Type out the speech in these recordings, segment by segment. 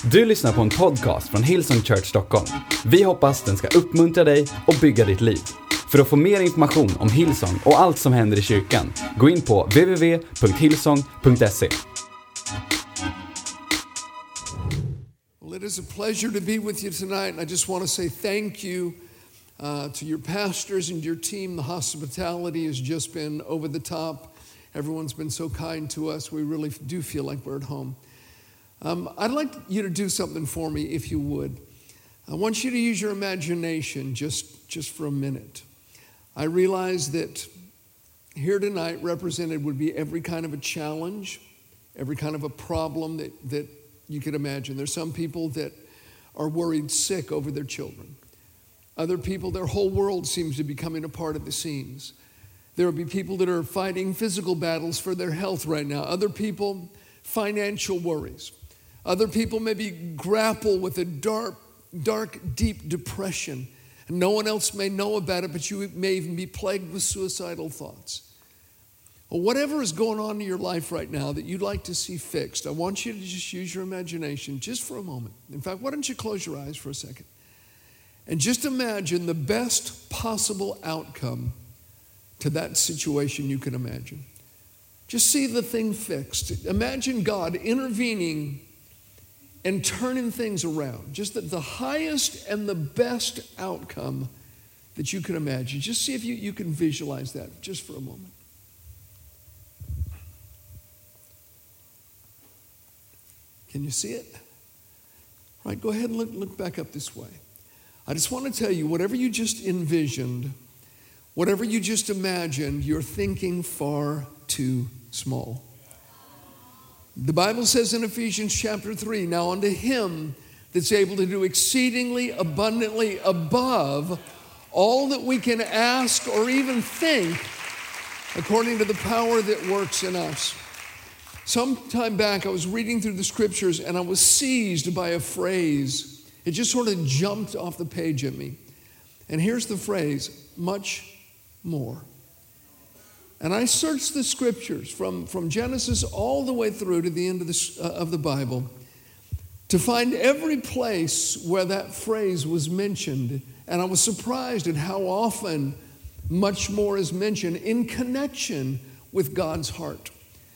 Du lyssnar på en podcast från Hillsong Church Stockholm. Vi hoppas den ska uppmuntra dig och bygga ditt liv. För att få mer information om Hillsong och allt som händer i kyrkan, gå in på www.hillsong.se. Well, it is a pleasure to be with you tonight, and I just want to say thank you to your pastors and your team. The hospitality has just been over the top. Everyone's been so kind to us. We really do feel like we're at home. I'd like you to do something for me, if you would. I want you to use your imagination just for a minute. I realize that here tonight represented would be every kind of a challenge, every kind of a problem that you could imagine. There's some people that are worried sick over their children. Other people, their whole world seems to be coming apart at the seams. There will be people that are fighting physical battles for their health right now. Other people, financial worries. Other people maybe grapple with a dark, deep depression. And no one else may know about it, but you may even be plagued with suicidal thoughts. Well, whatever is going on in your life right now that you'd like to see fixed, I want you to just use your imagination just for a moment. In fact, why don't you close your eyes for a second? And just imagine the best possible outcome to that situation you can imagine. Just see the thing fixed. Imagine God intervening and turning things around. Just the highest and the best outcome that you can imagine. Just see if you can visualize that just for a moment. Can you see it? All right, go ahead and look back up this way. I just want to tell you, whatever you just envisioned, whatever you just imagined, you're thinking far too small. The Bible says in Ephesians chapter 3, now unto him that's able to do exceedingly abundantly above all that we can ask or even think, according to the power that works in us. Some time back, I was reading through the scriptures and I was seized by a phrase. It just sort of jumped off the page at me. And here's the phrase, much more. And I searched the scriptures from Genesis all the way through to the end of the Bible to find every place where that phrase was mentioned. And I was surprised at how often much more is mentioned in connection with God's heart,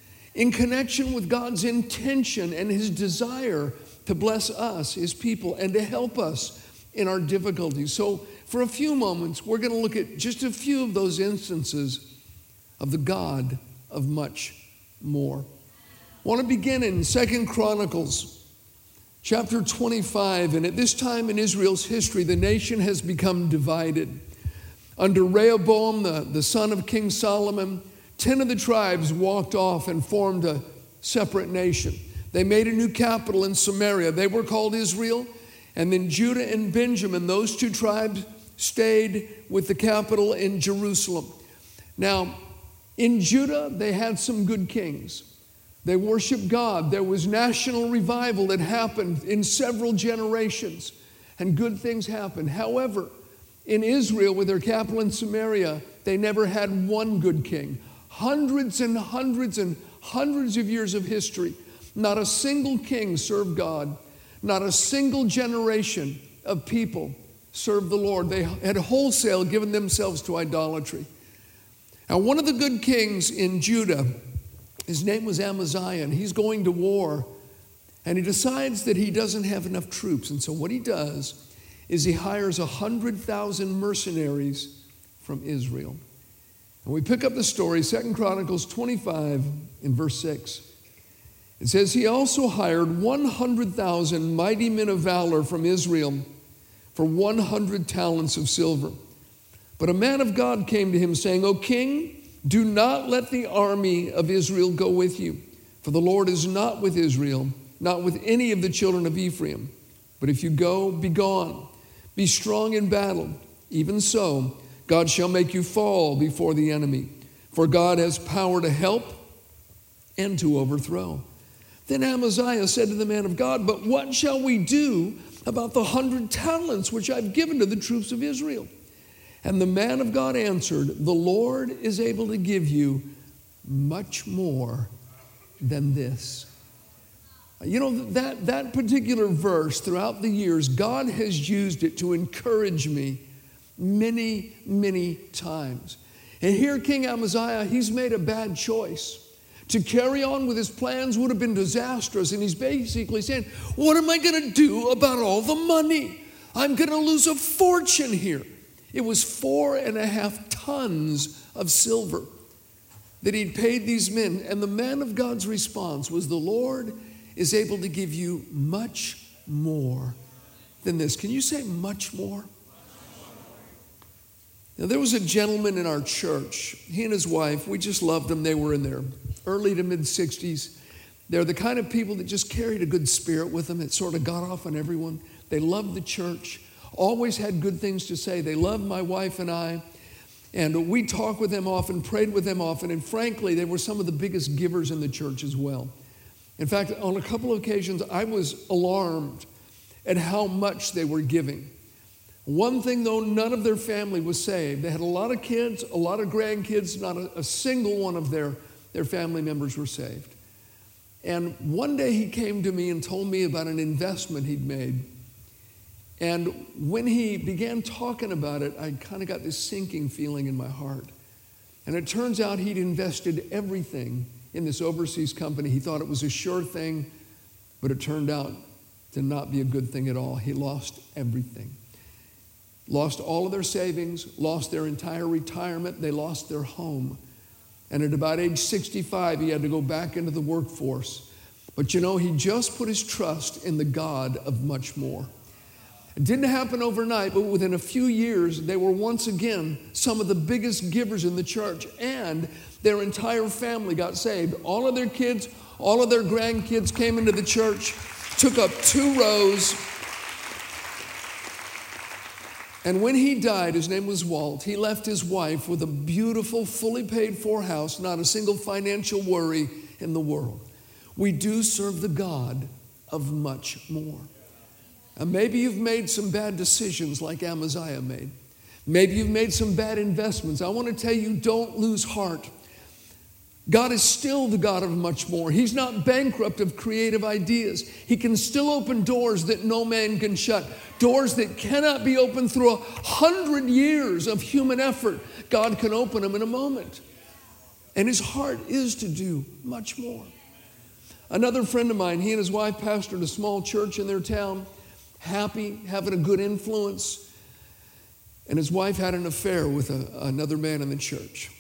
in connection with God's intention and his desire to bless us, his people, and to help us in our difficulties. So for a few moments, we're going to look at just a few of those instances of the God of much more. I want to begin in 2 Chronicles chapter 25. And at this time in Israel's history, the nation has become divided. Under Rehoboam, the son of King Solomon, 10 of the tribes walked off and formed a separate nation. They made a new capital in Samaria. They were called Israel. And then Judah and Benjamin, those two tribes, stayed with the capital in Jerusalem. Now, in Judah, they had some good kings. They worshiped God. There was national revival that happened in several generations, and good things happened. However, in Israel, with their capital in Samaria, they never had one good king. Hundreds and hundreds and hundreds of years of history, not a single king served God. Not a single generation of people served the Lord. They had wholesale given themselves to idolatry. Now, one of the good kings in Judah, his name was Amaziah, and he's going to war, and he decides that he doesn't have enough troops. And so what he does is he hires 100,000 mercenaries from Israel. And we pick up the story, 2 Chronicles 25 in verse 6. It says, he also hired 100,000 mighty men of valor from Israel for 100 talents of silver. But a man of God came to him saying, O king, do not let the army of Israel go with you, for the Lord is not with Israel, not with any of the children of Ephraim. But if you go, be gone. Be strong in battle. Even so, God shall make you fall before the enemy, for God has power to help and to overthrow. Then Amaziah said to the man of God, but what shall we do about the 100 talents which I've given to the troops of Israel? And the man of God answered, the Lord is able to give you much more than this. You know, that particular verse throughout the years, God has used it to encourage me many, many times. And here King Amaziah, he's made a bad choice. To carry on with his plans would have been disastrous. And he's basically saying, what am I going to do about all the money? I'm going to lose a fortune here. It was 4.5 tons of silver that he'd paid these men. And the man of God's response was, the Lord is able to give you much more than this. Can you say much more? Now, there was a gentleman in our church. He and his wife, we just loved them. They were in their early to mid-60s. They're the kind of people that just carried a good spirit with them. It sort of got off on everyone. They loved the church, always had good things to say. They loved my wife and I. And we talked with them often, prayed with them often. And frankly, they were some of the biggest givers in the church as well. In fact, on a couple of occasions, I was alarmed at how much they were giving. One thing, though, none of their family was saved. They had a lot of kids, a lot of grandkids. Not a single one of their family members were saved. And one day he came to me and told me about an investment he'd made. And when he began talking about it, I kind of got this sinking feeling in my heart. And it turns out he'd invested everything in this overseas company. He thought it was a sure thing, but it turned out to not be a good thing at all. He lost everything. Lost all of their savings, lost their entire retirement, they lost their home. And at about age 65, he had to go back into the workforce. But you know, he just put his trust in the God of much more. It didn't happen overnight, but within a few years, they were once again some of the biggest givers in the church, and their entire family got saved. All of their kids, all of their grandkids came into the church, took up 2 rows. And when he died, his name was Walt, he left his wife with a beautiful, fully paid for house, not a single financial worry in the world. We do serve the God of much more. And maybe you've made some bad decisions like Amaziah made. Maybe you've made some bad investments. I want to tell you, don't lose heart. God is still the God of much more. He's not bankrupt of creative ideas. He can still open doors that no man can shut. Doors that cannot be opened through 100 years of human effort. God can open them in a moment. And his heart is to do much more. Another friend of mine, he and his wife pastored a small church in their town, happy, having a good influence. And his wife had an affair with another man in the church.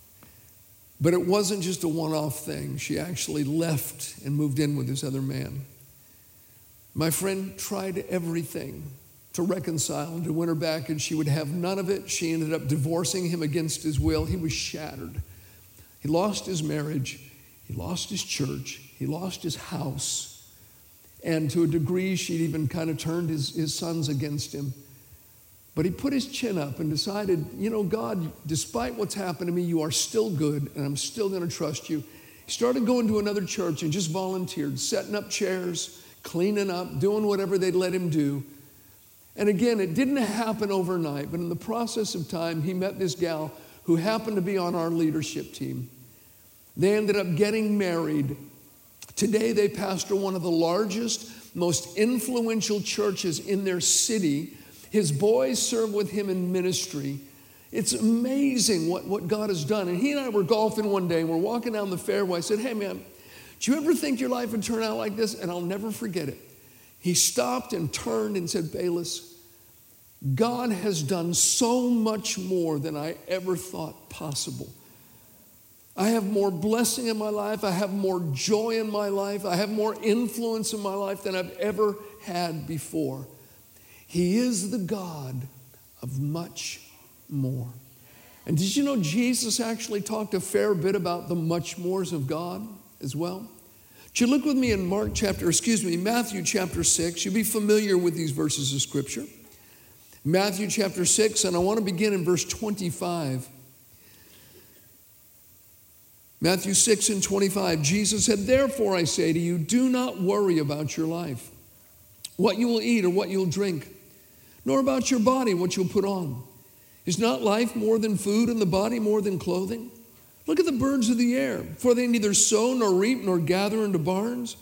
But it wasn't just a one-off thing. She actually left and moved in with this other man. My friend tried everything to reconcile and to win her back, and she would have none of it. She ended up divorcing him against his will. He was shattered. He lost his marriage. He lost his church. He lost his house. And to a degree, she'd even kind of turned his sons against him. But he put his chin up and decided, you know, God, despite what's happened to me, you are still good, and I'm still going to trust you. He started going to another church and just volunteered, setting up chairs, cleaning up, doing whatever they'd let him do. And again, it didn't happen overnight, but in the process of time, he met this gal who happened to be on our leadership team. They ended up getting married. Today, they pastor one of the largest, most influential churches in their city. His boys serve with him in ministry. It's amazing what God has done. And he and I were golfing one day, and we're walking down the fairway. I said, hey, man, do you ever think your life would turn out like this? And I'll never forget it. He stopped and turned and said, Bayless, God has done so much more than I ever thought possible. I have more blessing in my life. I have more joy in my life. I have more influence in my life than I've ever had before. He is the God of much more. And did you know Jesus actually talked a fair bit about the much mores of God as well? Would you look with me in Matthew chapter 6. You'll be familiar with these verses of Scripture. Matthew chapter 6, and I want to begin in verse 25. Matthew 6 and 25, Jesus said, therefore I say to you, do not worry about your life, what you will eat or what you'll drink, nor about your body, what you'll put on. Is not life more than food and the body more than clothing? Look at the birds of the air, for they neither sow nor reap nor gather into barns,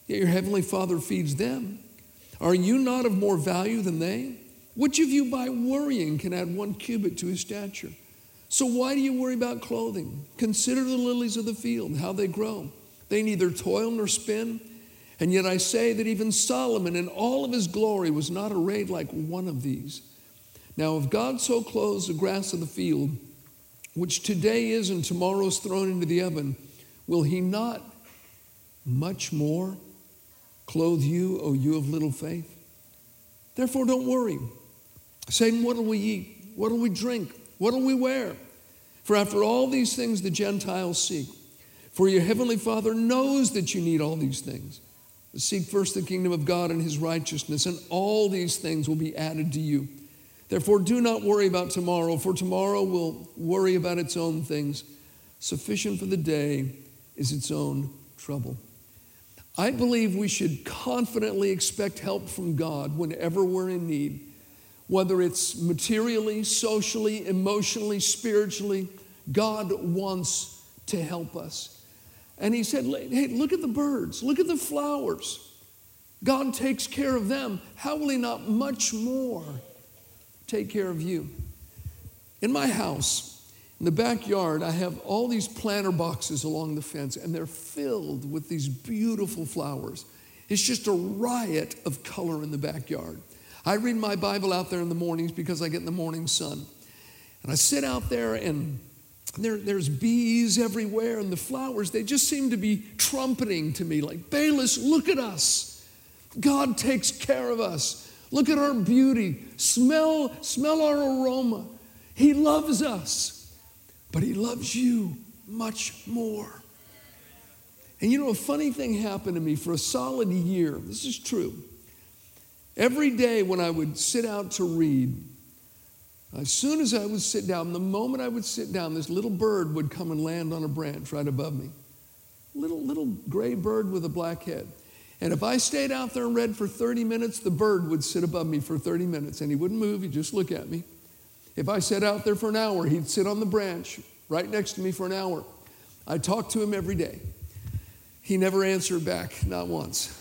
yet your heavenly Father feeds them. Are you not of more value than they? Which of you by worrying can add 1 cubit to his stature? So why do you worry about clothing? Consider the lilies of the field, how they grow. They neither toil nor spin. And yet I say that even Solomon in all of his glory was not arrayed like one of these. Now if God so clothes the grass of the field, which today is and tomorrow is thrown into the oven, will he not much more clothe you, O you of little faith? Therefore don't worry, saying, what will we eat? What will we drink? What will we wear? For after all these things the Gentiles seek. For your heavenly Father knows that you need all these things. But seek first the kingdom of God and his righteousness, and all these things will be added to you. Therefore do not worry about tomorrow, for tomorrow will worry about its own things. Sufficient for the day is its own trouble. I believe we should confidently expect help from God whenever we're in need, whether it's materially, socially, emotionally, spiritually. God wants to help us. And he said, hey, look at the birds, look at the flowers. God takes care of them. How will he not much more take care of you? In my house, in the backyard, I have all these planter boxes along the fence, and they're filled with these beautiful flowers. It's just a riot of color in the backyard. I read my Bible out there in the mornings because I get in the morning sun. And I sit out there, and there's bees everywhere, and the flowers, they just seem to be trumpeting to me like, Bayless, look at us. God takes care of us. Look at our beauty. Smell our aroma. He loves us, but he loves you much more. And you know, a funny thing happened to me for a solid year. This is true. Every day when I would sit out to read, as soon as I would sit down, the moment I would sit down, this little bird would come and land on a branch right above me. Little gray bird with a black head. And if I stayed out there and read for 30 minutes, the bird would sit above me for 30 minutes, and he wouldn't move, he'd just look at me. If I sat out there for an hour, he'd sit on the branch right next to me for an hour. I talked to him every day. He never answered back, not once.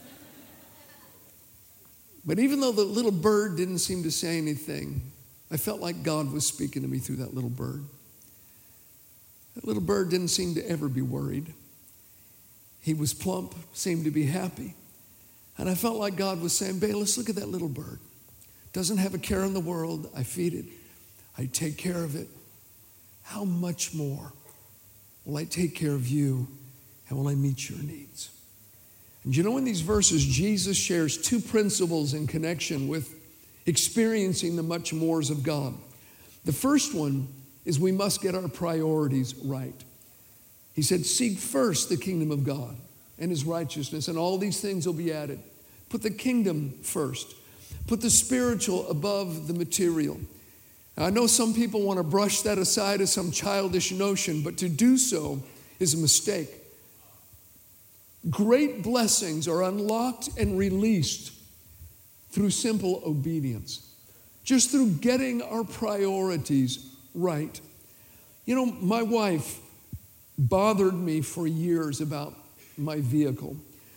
But even though the little bird didn't seem to say anything, I felt like God was speaking to me through that little bird. That little bird didn't seem to ever be worried. He was plump, seemed to be happy. And I felt like God was saying, Bayless, look at that little bird. Doesn't have a care in the world. I feed it. I take care of it. How much more will I take care of you, and will I meet your needs? And you know, in these verses, Jesus shares two principles in connection with experiencing the much mores of God. The first one is we must get our priorities right. He said, seek first the kingdom of God and his righteousness, and all these things will be added. Put the kingdom first. Put the spiritual above the material. Now, I know some people want to brush that aside as some childish notion, but to do so is a mistake. Great blessings are unlocked and released through simple obedience, just through getting our priorities right. You know, my wife bothered me for years about my vehicle.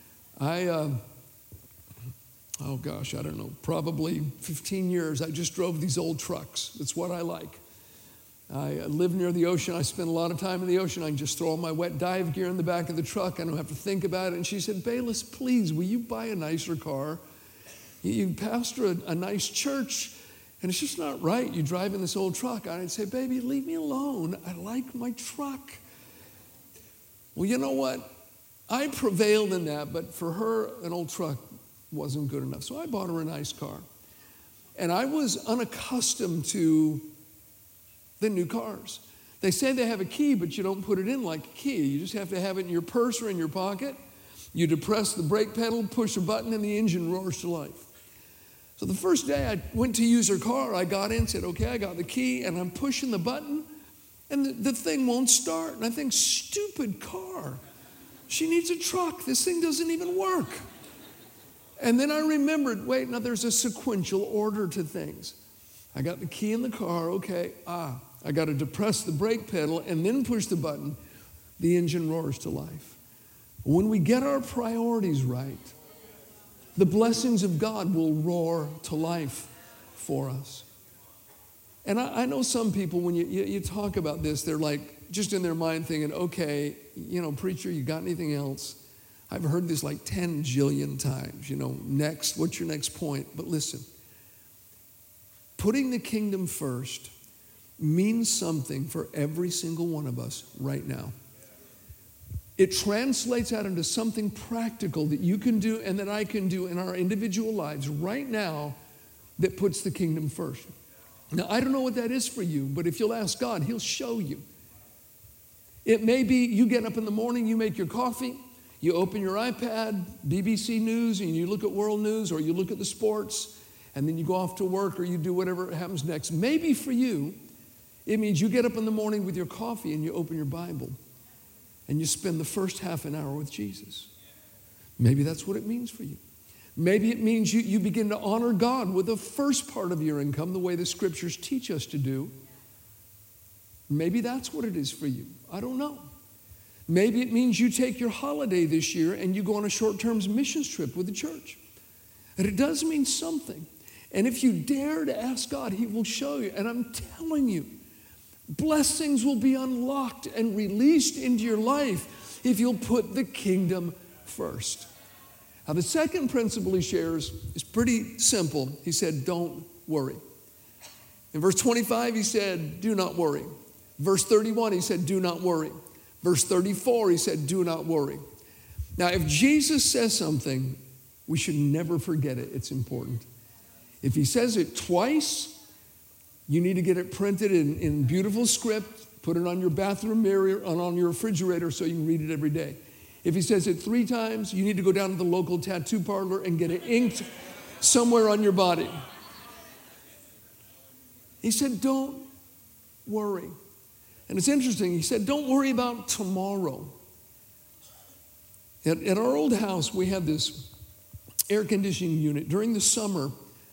Probably 15 years, I just drove these old trucks. That's what I like. I live near the ocean. I spend a lot of time in the ocean. I can just throw all my wet dive gear in the back of the truck. I don't have to think about it. And she said, Bayless, please, will you buy a nicer car? You pastor a nice church, and it's just not right. You drive in this old truck. I'd say, baby, leave me alone. I like my truck. Well, you know what? I prevailed in that, but for her, an old truck wasn't good enough. So I bought her a nice car. And I was unaccustomed to the new cars. They say they have a key, but you don't put it in like a key. You just have to have it in your purse or in your pocket. You depress the brake pedal, push a button, and the engine roars to life. So the first day I went to use her car, I got in, said, okay, I got the key, and I'm pushing the button, and the thing won't start. And I think, stupid car. She needs a truck. This thing doesn't even work. And then I remembered, wait, now there's a sequential order to things. I got the key in the car, okay, I got to depress the brake pedal and then push the button. The engine roars to life. When we get our priorities right, the blessings of God will roar to life for us. And I know some people, when you talk about this, they're like just in their mind thinking, okay, preacher, you got anything else? I've heard this like 10 jillion times, next, what's your next point? But listen, putting the kingdom first means something for every single one of us right now. It translates out into something practical that you can do and that I can do in our individual lives right now that puts the kingdom first. Now, I don't know what that is for you, but if you'll ask God, He'll show you. It may be you get up in the morning, you make your coffee, you open your iPad, BBC News, and you look at world news, or you look at the sports, and then you go off to work, or you do whatever happens next. Maybe for you, it means you get up in the morning with your coffee and you open your Bible, and you spend the first half an hour with Jesus. Maybe that's what it means for you. Maybe it means you begin to honor God with the first part of your income, the way the scriptures teach us to do. Maybe that's what it is for you. I don't know. Maybe it means you take your holiday this year and you go on a short-term missions trip with the church. And it does mean something. And if you dare to ask God, He will show you. And I'm telling you, blessings will be unlocked and released into your life if you'll put the kingdom first. Now, the second principle he shares is pretty simple. He said, don't worry. In verse 25, he said, do not worry. Verse 31, he said, do not worry. Verse 34, he said, do not worry. Now, if Jesus says something, we should never forget it. It's important. If he says it twice, you need to get it printed in beautiful script, put it on your bathroom mirror and on your refrigerator so you can read it every day. If he says it 3 times, you need to go down to the local tattoo parlor and get it inked somewhere on your body. He said, don't worry. And it's interesting. He said, don't worry about tomorrow. At our old house, we had this air conditioning unit. During the summer,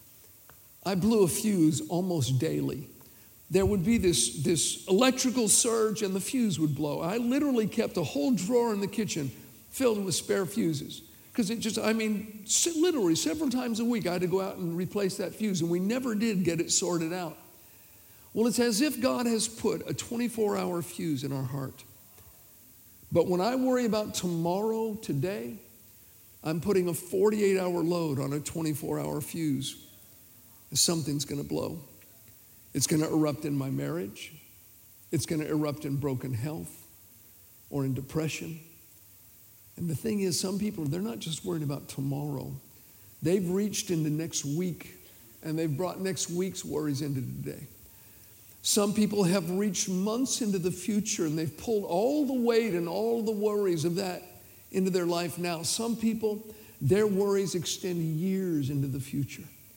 I blew a fuse almost daily. There would be this electrical surge and the fuse would blow. I literally kept a whole drawer in the kitchen filled with spare fuses. Because literally several times a week I had to go out and replace that fuse, and we never did get it sorted out. Well, it's as if God has put a 24-hour fuse in our heart. But when I worry about tomorrow, today, I'm putting a 48-hour load on a 24-hour fuse. Something's going to blow. It's going to erupt in my marriage. It's going to erupt in broken health or in depression. And the thing is, some people, they're not just worried about tomorrow. They've reached into next week, and they've brought next week's worries into today. Some people have reached months into the future, and they've pulled all the weight and all the worries of that into their life now. Some people, their worries extend years into the future.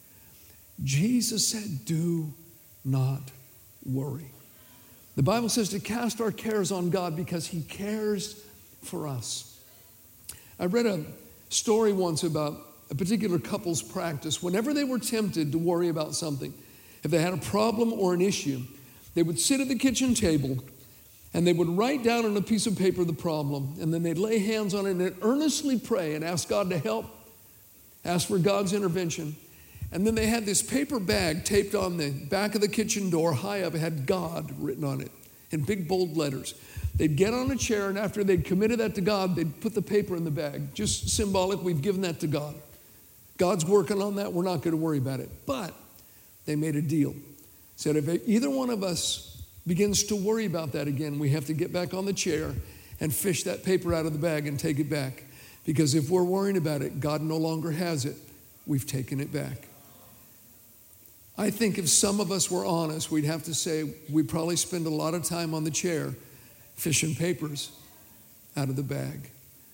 Jesus said, do not worry. The Bible says to cast our cares on God because He cares for us. I read a story once about a particular couple's practice. Whenever they were tempted to worry about something, if they had a problem or an issue, they would sit at the kitchen table and they would write down on a piece of paper the problem, and then they'd lay hands on it and earnestly pray and ask God to help, ask for God's intervention. And then they had this paper bag taped on the back of the kitchen door high up. It had God written on it in big bold letters. They'd get on a chair, and after they'd committed that to God, they'd put the paper in the bag. Just symbolic, we've given that to God. God's working on that. We're not going to worry about it. But they made a deal. Said if either one of us begins to worry about that again, we have to get back on the chair and fish that paper out of the bag and take it back. Because if we're worrying about it, God no longer has it. We've taken it back. I think if some of us were honest, we'd have to say we probably spend a lot of time on the chair fishing papers out of the bag.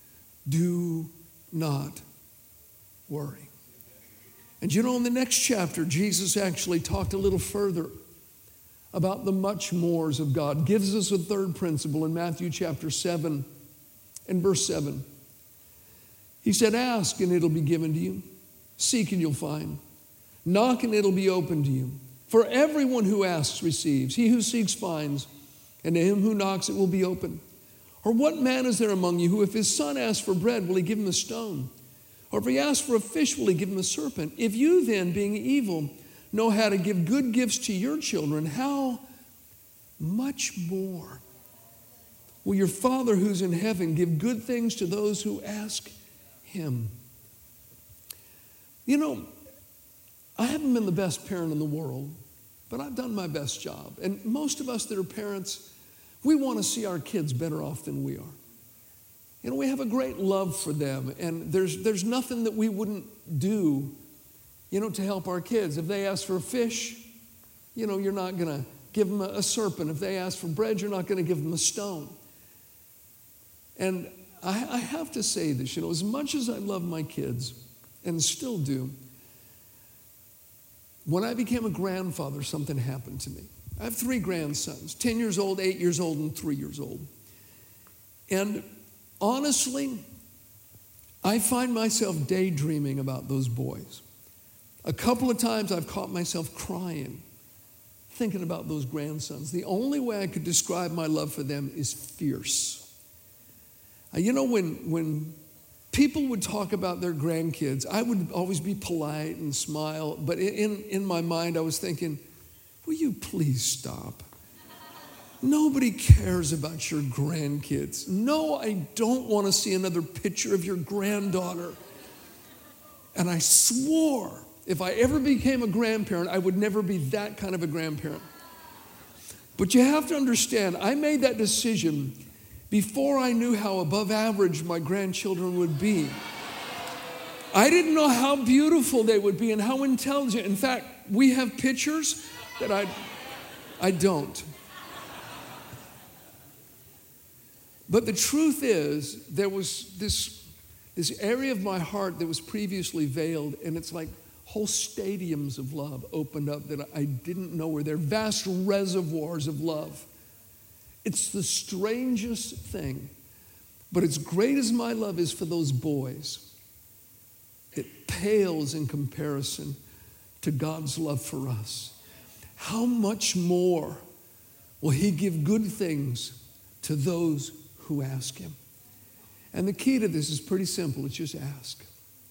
Do not worry. And in the next chapter, Jesus actually talked a little further about the much mores of God. Gives us a third principle in Matthew chapter 7 and verse 7. He said, ask and it'll be given to you. Seek and you'll find. Knock and it'll be open to you. For everyone who asks receives. He who seeks finds. And to him who knocks it will be open. Or what man is there among you who, if his son asks for bread, will he give him a stone? Or if he asks for a fish, will he give him a serpent? If you then, being evil, know how to give good gifts to your children, how much more will your Father who's in heaven give good things to those who ask him? You know, I haven't been the best parent in the world, but I've done my best job. And most of us that are parents, we want to see our kids better off than we are. You know, we have a great love for them, and there's nothing that we wouldn't do, you know, to help our kids. If they ask for a fish, you know, you're not going to give them a serpent. If they ask for bread, you're not going to give them a stone. And I have to say this, you know, as much as I love my kids, and still do, when I became a grandfather, something happened to me. I have 3 grandsons, 10 years old, 8 years old, and 3 years old. And honestly, I find myself daydreaming about those boys. A couple of times I've caught myself crying, thinking about those grandsons. The only way I could describe my love for them is fierce. You know, when people would talk about their grandkids, I would always be polite and smile, but in my mind I was thinking, will you please stop? Nobody cares about your grandkids. No, I don't want to see another picture of your granddaughter. And I swore if I ever became a grandparent, I would never be that kind of a grandparent. But you have to understand, I made that decision before I knew how above average my grandchildren would be. I didn't know how beautiful they would be and how intelligent. In fact, we have pictures that I don't. But the truth is, there was this area of my heart that was previously veiled, and it's like whole stadiums of love opened up that I didn't know were there, vast reservoirs of love. It's the strangest thing. But as great as my love is for those boys, it pales in comparison to God's love for us. How much more will he give good things to those who ask him? And the key to this is pretty simple. It's just ask.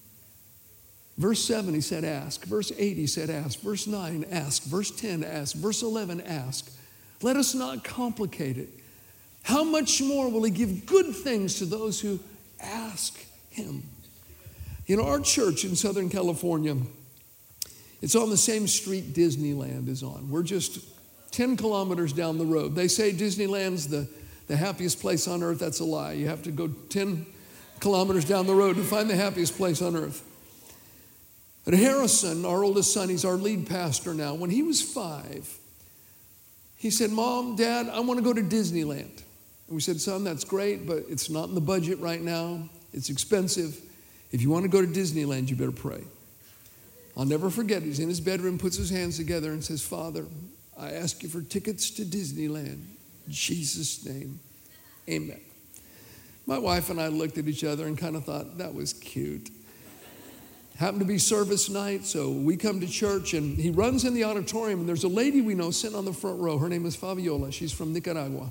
Verse 7, he said ask. Verse 8, he said ask. Verse 9, ask. Verse 10, ask. Verse 11, ask. Let us not complicate it. How much more will he give good things to those who ask him? You know, our church in Southern California, it's on the same street Disneyland is on. We're just 10 kilometers down the road. They say Disneyland's the happiest place on earth. That's a lie. You have to go 10 kilometers down the road to find the happiest place on earth. But Harrison, our oldest son, he's our lead pastor now. When he was 5, he said, Mom, Dad, I want to go to Disneyland. And we said, son, that's great, but it's not in the budget right now. It's expensive. If you want to go to Disneyland, you better pray. I'll never forget. He's in his bedroom, puts his hands together and says, Father, I ask you for tickets to Disneyland. In Jesus' name, amen. My wife and I looked at each other and kind of thought, that was cute. Happened to be service night, so we come to church, and he runs in the auditorium, and there's a lady we know sitting on the front row. Her name is Fabiola. She's from Nicaragua.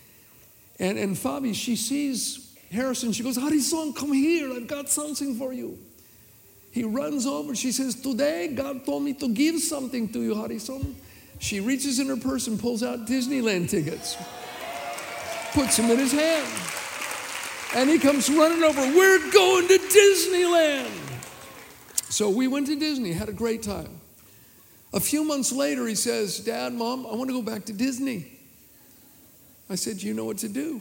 And Fabi, she sees Harrison. She goes, Harrison, come here. I've got something for you. He runs over. She says, today God told me to give something to you, Harrison. She reaches in her purse and pulls out Disneyland tickets. Puts them in his hand. And he comes running over. We're going to Disneyland. So we went to Disney, had a great time. A few months later, he says, Dad, Mom, I want to go back to Disney. I said, you know what to do.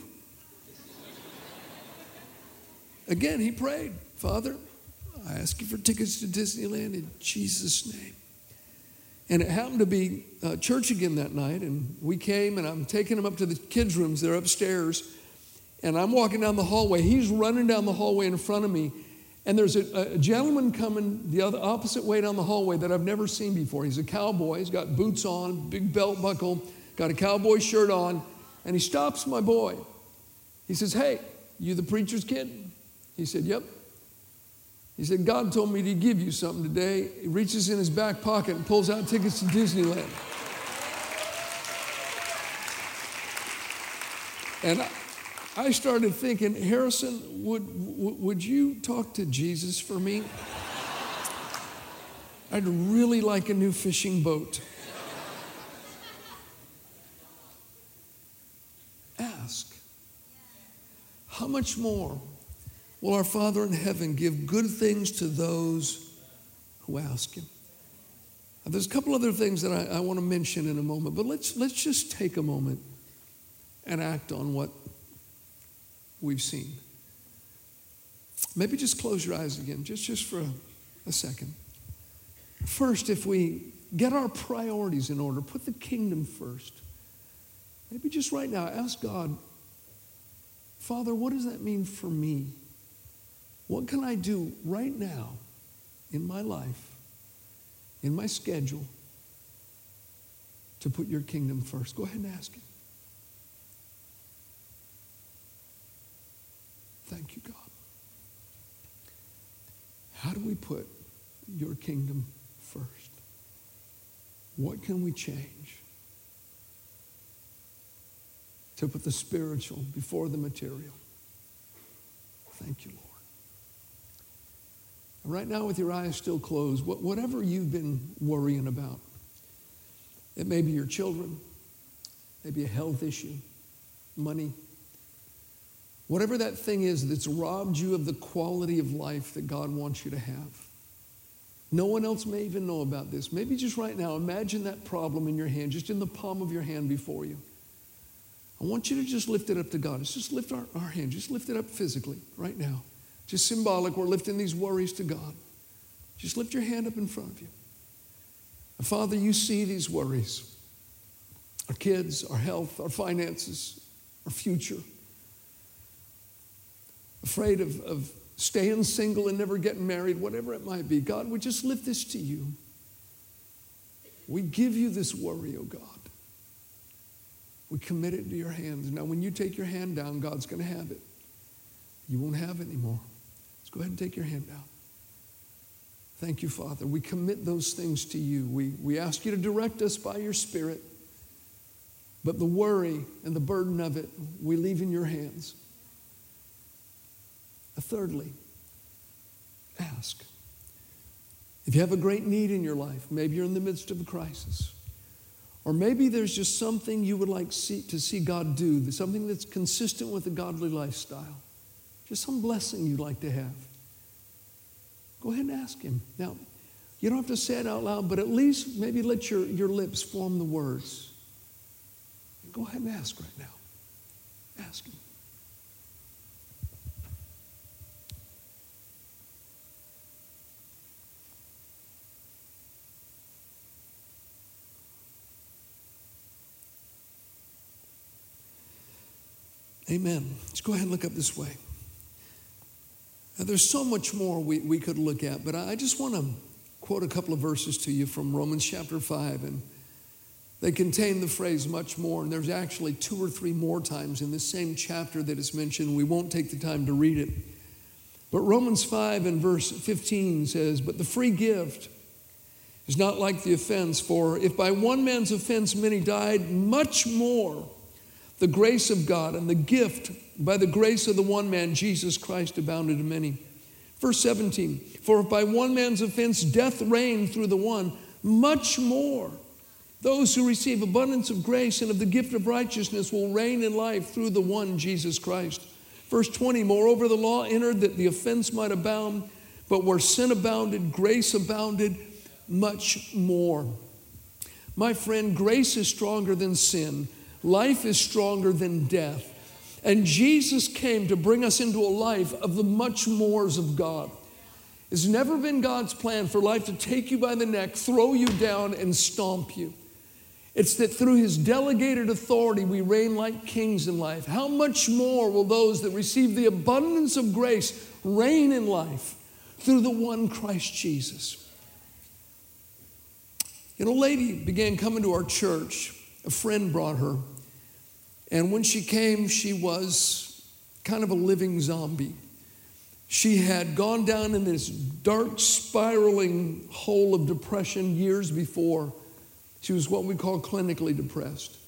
Again, he prayed, Father, I ask you for tickets to Disneyland in Jesus' name. And it happened to be church again that night, and we came, and I'm taking him up to the kids' rooms. They're upstairs, and I'm walking down the hallway. He's running down the hallway in front of me, and there's a gentleman coming the opposite way down the hallway that I've never seen before. He's a cowboy. He's got boots on, big belt buckle, got a cowboy shirt on, and he stops my boy. He says, hey, you the preacher's kid? He said, yep. He said, God told me to give you something today. He reaches in his back pocket and pulls out tickets to Disneyland. And I started thinking, Harrison, would you talk to Jesus for me? I'd really like a new fishing boat. Ask. How much more will our Father in heaven give good things to those who ask him? Now, there's a couple other things that I want to mention in a moment, but let's just take a moment and act on what we've seen. Maybe just close your eyes again, just for a second. First, if we get our priorities in order, put the kingdom first. Maybe just right now, ask God, Father, what does that mean for me? What can I do right now in my life, in my schedule, to put your kingdom first? Go ahead and ask him. Thank you, God. How do we put your kingdom first? What can we change to put the spiritual before the material? Thank you, Lord. And right now, with your eyes still closed, whatever you've been worrying about, it may be your children, maybe a health issue, money, whatever that thing is that's robbed you of the quality of life that God wants you to have. No one else may even know about this. Maybe just right now, imagine that problem in your hand, just in the palm of your hand before you. I want you to just lift it up to God. Let's just lift our hand. Just lift it up physically right now. Just symbolic. We're lifting these worries to God. Just lift your hand up in front of you. And Father, you see these worries. Our kids, our health, our finances, our future. Afraid of staying single and never getting married, whatever it might be. God, we just lift this to you. We give you this worry, oh God. We commit it into your hands. Now, when you take your hand down, God's going to have it. You won't have it anymore. Let's go ahead and take your hand down. Thank you, Father. We commit those things to you. We ask you to direct us by your Spirit. But the worry and the burden of it, we leave in your hands. Thirdly, ask. If you have a great need in your life, maybe you're in the midst of a crisis, or maybe there's just something you would like to see God do, something that's consistent with a godly lifestyle, just some blessing you'd like to have, go ahead and ask him. Now, you don't have to say it out loud, but at least maybe let your lips form the words. Go ahead and ask right now. Ask him. Amen. Let's go ahead and look up this way. Now, there's so much more we could look at, but I just want to quote a couple of verses to you from Romans chapter 5, and they contain the phrase much more, and there's actually 2 or 3 more times in this same chapter that is mentioned. We won't take the time to read it. But Romans 5 and verse 15 says, "But the free gift is not like the offense, for if by one man's offense many died, much more the grace of God and the gift by the grace of the one man, Jesus Christ, abounded to many." Verse 17, "For if by one man's offense death reigned through the one, much more those who receive abundance of grace and of the gift of righteousness will reign in life through the one, Jesus Christ." Verse 20, "Moreover, the law entered that the offense might abound, but where sin abounded, grace abounded much more." My friend, grace is stronger than sin. Life is stronger than death. And Jesus came to bring us into a life of the much mores of God. It's never been God's plan for life to take you by the neck, throw you down, and stomp you. It's that through his delegated authority, we reign like kings in life. How much more will those that receive the abundance of grace reign in life through the one Christ Jesus? You know, a lady began coming to our church. A friend brought her. And when she came, she was kind of a living zombie. She had gone down in this dark, spiraling hole of depression years before. She was what we call clinically depressed.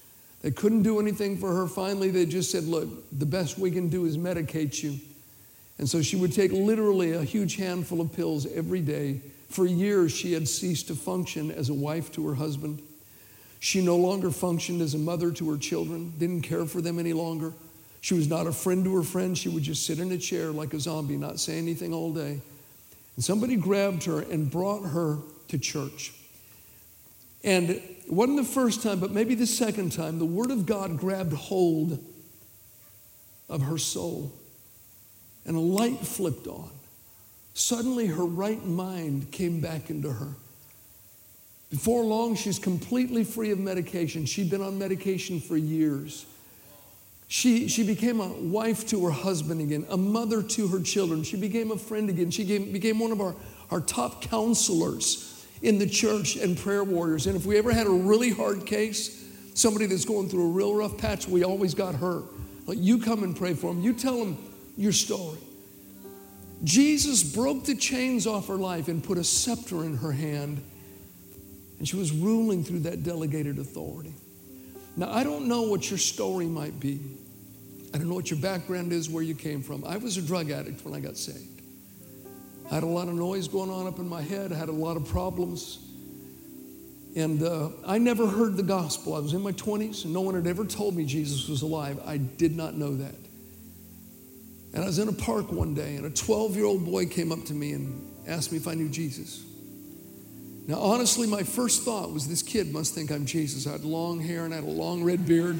They couldn't do anything for her. Finally, they just said, look, the best we can do is medicate you. And so she would take literally a huge handful of pills every day. For years, she had ceased to function as a wife to her husband. She no longer functioned as a mother to her children, didn't care for them any longer. She was not a friend to her friends. She would just sit in a chair like a zombie, not say anything all day. And somebody grabbed her and brought her to church. And it wasn't the first time, but maybe the second time, the Word of God grabbed hold of her soul. And a light flipped on. Suddenly, her right mind came back into her. Before long, she's completely free of medication. She'd been on medication for years. She became a wife to her husband again, a mother to her children. She became a friend again. She became one of our top counselors in the church and prayer warriors. And if we ever had a really hard case, somebody that's going through a real rough patch, we always got her. Like, you come and pray for them. You tell them your story. Jesus broke the chains off her life and put a scepter in her hand. And she was ruling through that delegated authority. Now, I don't know what your story might be. I don't know what your background is, where you came from. I was a drug addict when I got saved. I had a lot of noise going on up in my head. I had a lot of problems. And I never heard the gospel. I was in my 20s, and no one had ever told me Jesus was alive. I did not know that. And I was in a park one day, and a 12-year-old boy came up to me and asked me if I knew Jesus. Now, honestly, my first thought was, this kid must think I'm Jesus. I had long hair and I had a long red beard.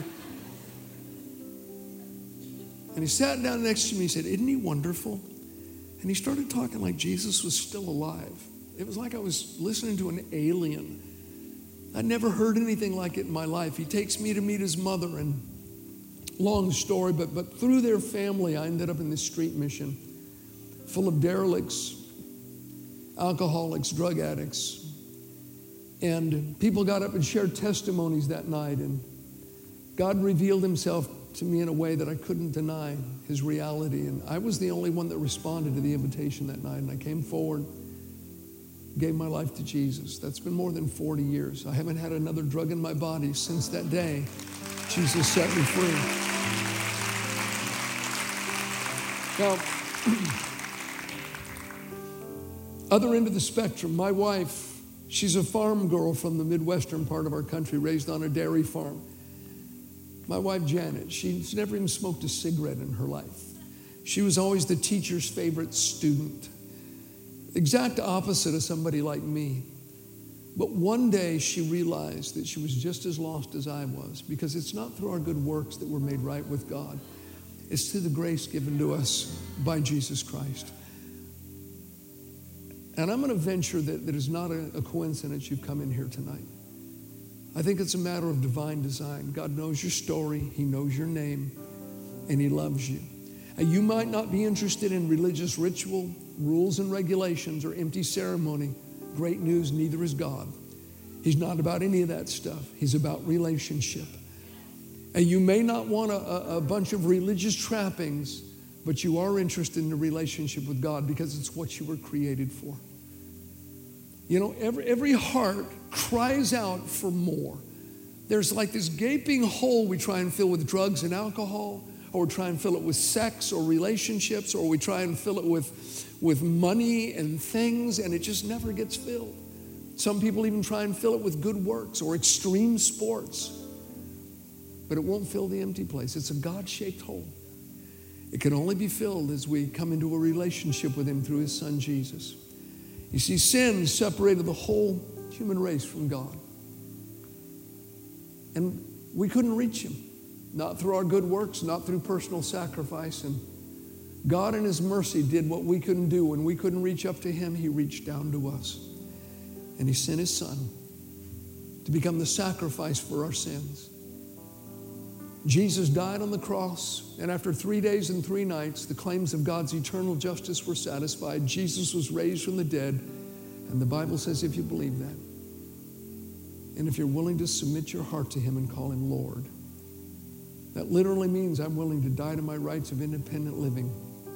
And he sat down next to me and said, isn't he wonderful? And he started talking like Jesus was still alive. It was like I was listening to an alien. I'd never heard anything like it in my life. He takes me to meet his mother, and long story, but through their family, I ended up in this street mission full of derelicts, alcoholics, drug addicts. And people got up and shared testimonies that night, and God revealed himself to me in a way that I couldn't deny his reality. And I was the only one that responded to the invitation that night, and I came forward, gave my life to Jesus. That's been more than 40 years. I haven't had another drug in my body since that day. Jesus set me free. Now, other end of the spectrum, my wife, she's a farm girl from the Midwestern part of our country, raised on a dairy farm. My wife, Janet, she's never even smoked a cigarette in her life. She was always the teacher's favorite student. Exact opposite of somebody like me. But one day she realized that she was just as lost as I was, because it's not through our good works that we're made right with God. It's through the grace given to us by Jesus Christ. And I'm going to venture that it's not a coincidence you've come in here tonight. I think it's a matter of divine design. God knows your story. He knows your name, and he loves you. And you might not be interested in religious ritual, rules and regulations, or empty ceremony. Great news, neither is God. He's not about any of that stuff. He's about relationship. And you may not want a bunch of religious trappings, but you are interested in a relationship with God because it's what you were created for. You know, every heart cries out for more. There's like this gaping hole we try and fill with drugs and alcohol, or we try and fill it with sex or relationships, or we try and fill it with money and things, and it just never gets filled. Some people even try and fill it with good works or extreme sports, but it won't fill the empty place. It's a God-shaped hole. It can only be filled as we come into a relationship with him through his son, Jesus. You see, sin separated the whole human race from God. And we couldn't reach him, not through our good works, not through personal sacrifice. And God in his mercy did what we couldn't do. When we couldn't reach up to him, he reached down to us. And he sent his son to become the sacrifice for our sins. Jesus died on the cross, and after 3 days and 3 nights, the claims of God's eternal justice were satisfied. Jesus was raised from the dead, and the Bible says if you believe that, and if you're willing to submit your heart to him and call him Lord, that literally means I'm willing to die to my rights of independent living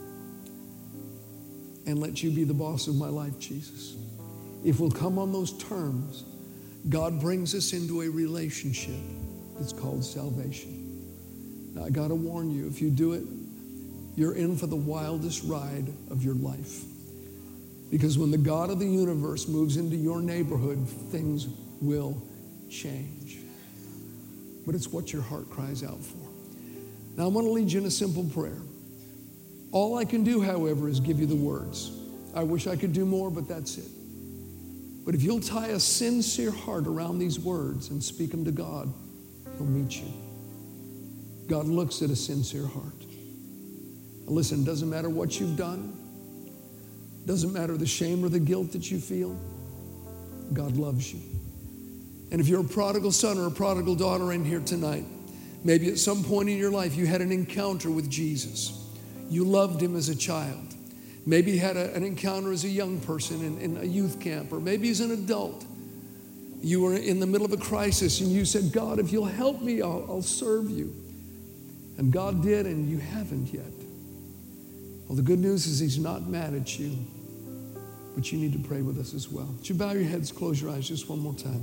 and let you be the boss of my life, Jesus. If we'll come on those terms, God brings us into a relationship It's called salvation. Now, I got to warn you, if you do it, you're in for the wildest ride of your life. Because when the God of the universe moves into your neighborhood, things will change. But it's what your heart cries out for. Now, I want to lead you in a simple prayer. All I can do, however, is give you the words. I wish I could do more, but that's it. But if you'll tie a sincere heart around these words and speak them to God, He'll meet you. God looks at a sincere heart. Now listen, it doesn't matter what you've done. It doesn't matter the shame or the guilt that you feel. God loves you. And if you're a prodigal son or a prodigal daughter in here tonight, maybe at some point in your life you had an encounter with Jesus. You loved Him as a child. Maybe you had an encounter as a young person in a youth camp, or maybe as an adult. You were in the middle of a crisis and you said, God, if you'll help me, I'll serve you. And God did, and you haven't yet. Well, the good news is He's not mad at you, but you need to pray with us as well. Would you bow your heads, close your eyes just one more time?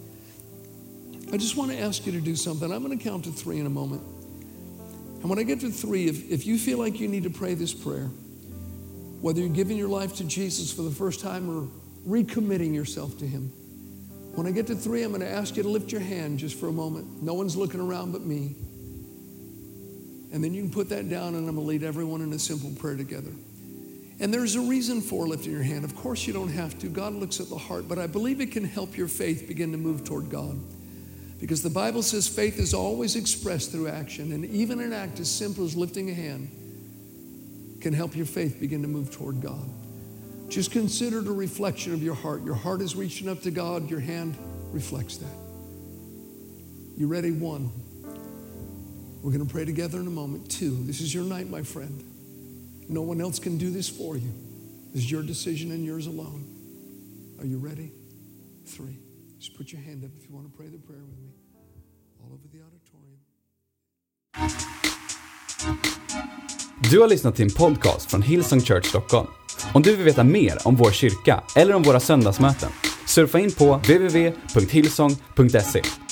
I just want to ask you to do something. I'm going to count to 3 in a moment. And when I get to 3, if you feel like you need to pray this prayer, whether you're giving your life to Jesus for the first time or recommitting yourself to Him, when I get to 3, I'm going to ask you to lift your hand just for a moment. No one's looking around but me. And then you can put that down, and I'm going to lead everyone in a simple prayer together. And there's a reason for lifting your hand. Of course you don't have to. God looks at the heart, but I believe it can help your faith begin to move toward God. Because the Bible says faith is always expressed through action, and even an act as simple as lifting a hand can help your faith begin to move toward God. Just consider it a reflection of your heart. Your heart is reaching up to God. Your hand reflects that. You ready? 1. We're going to pray together in a moment. 2, this is your night, my friend. No one else can do this for you. This is your decision and yours alone. Are you ready? 3. Just put your hand up if you want to pray the prayer with me. All over the auditorium. Du har lyssnat till en podcast från Hillsong Church Stockholm. Om du vill veta mer om vår kyrka eller om våra söndagsmöten, surfa in på www.hillsong.se.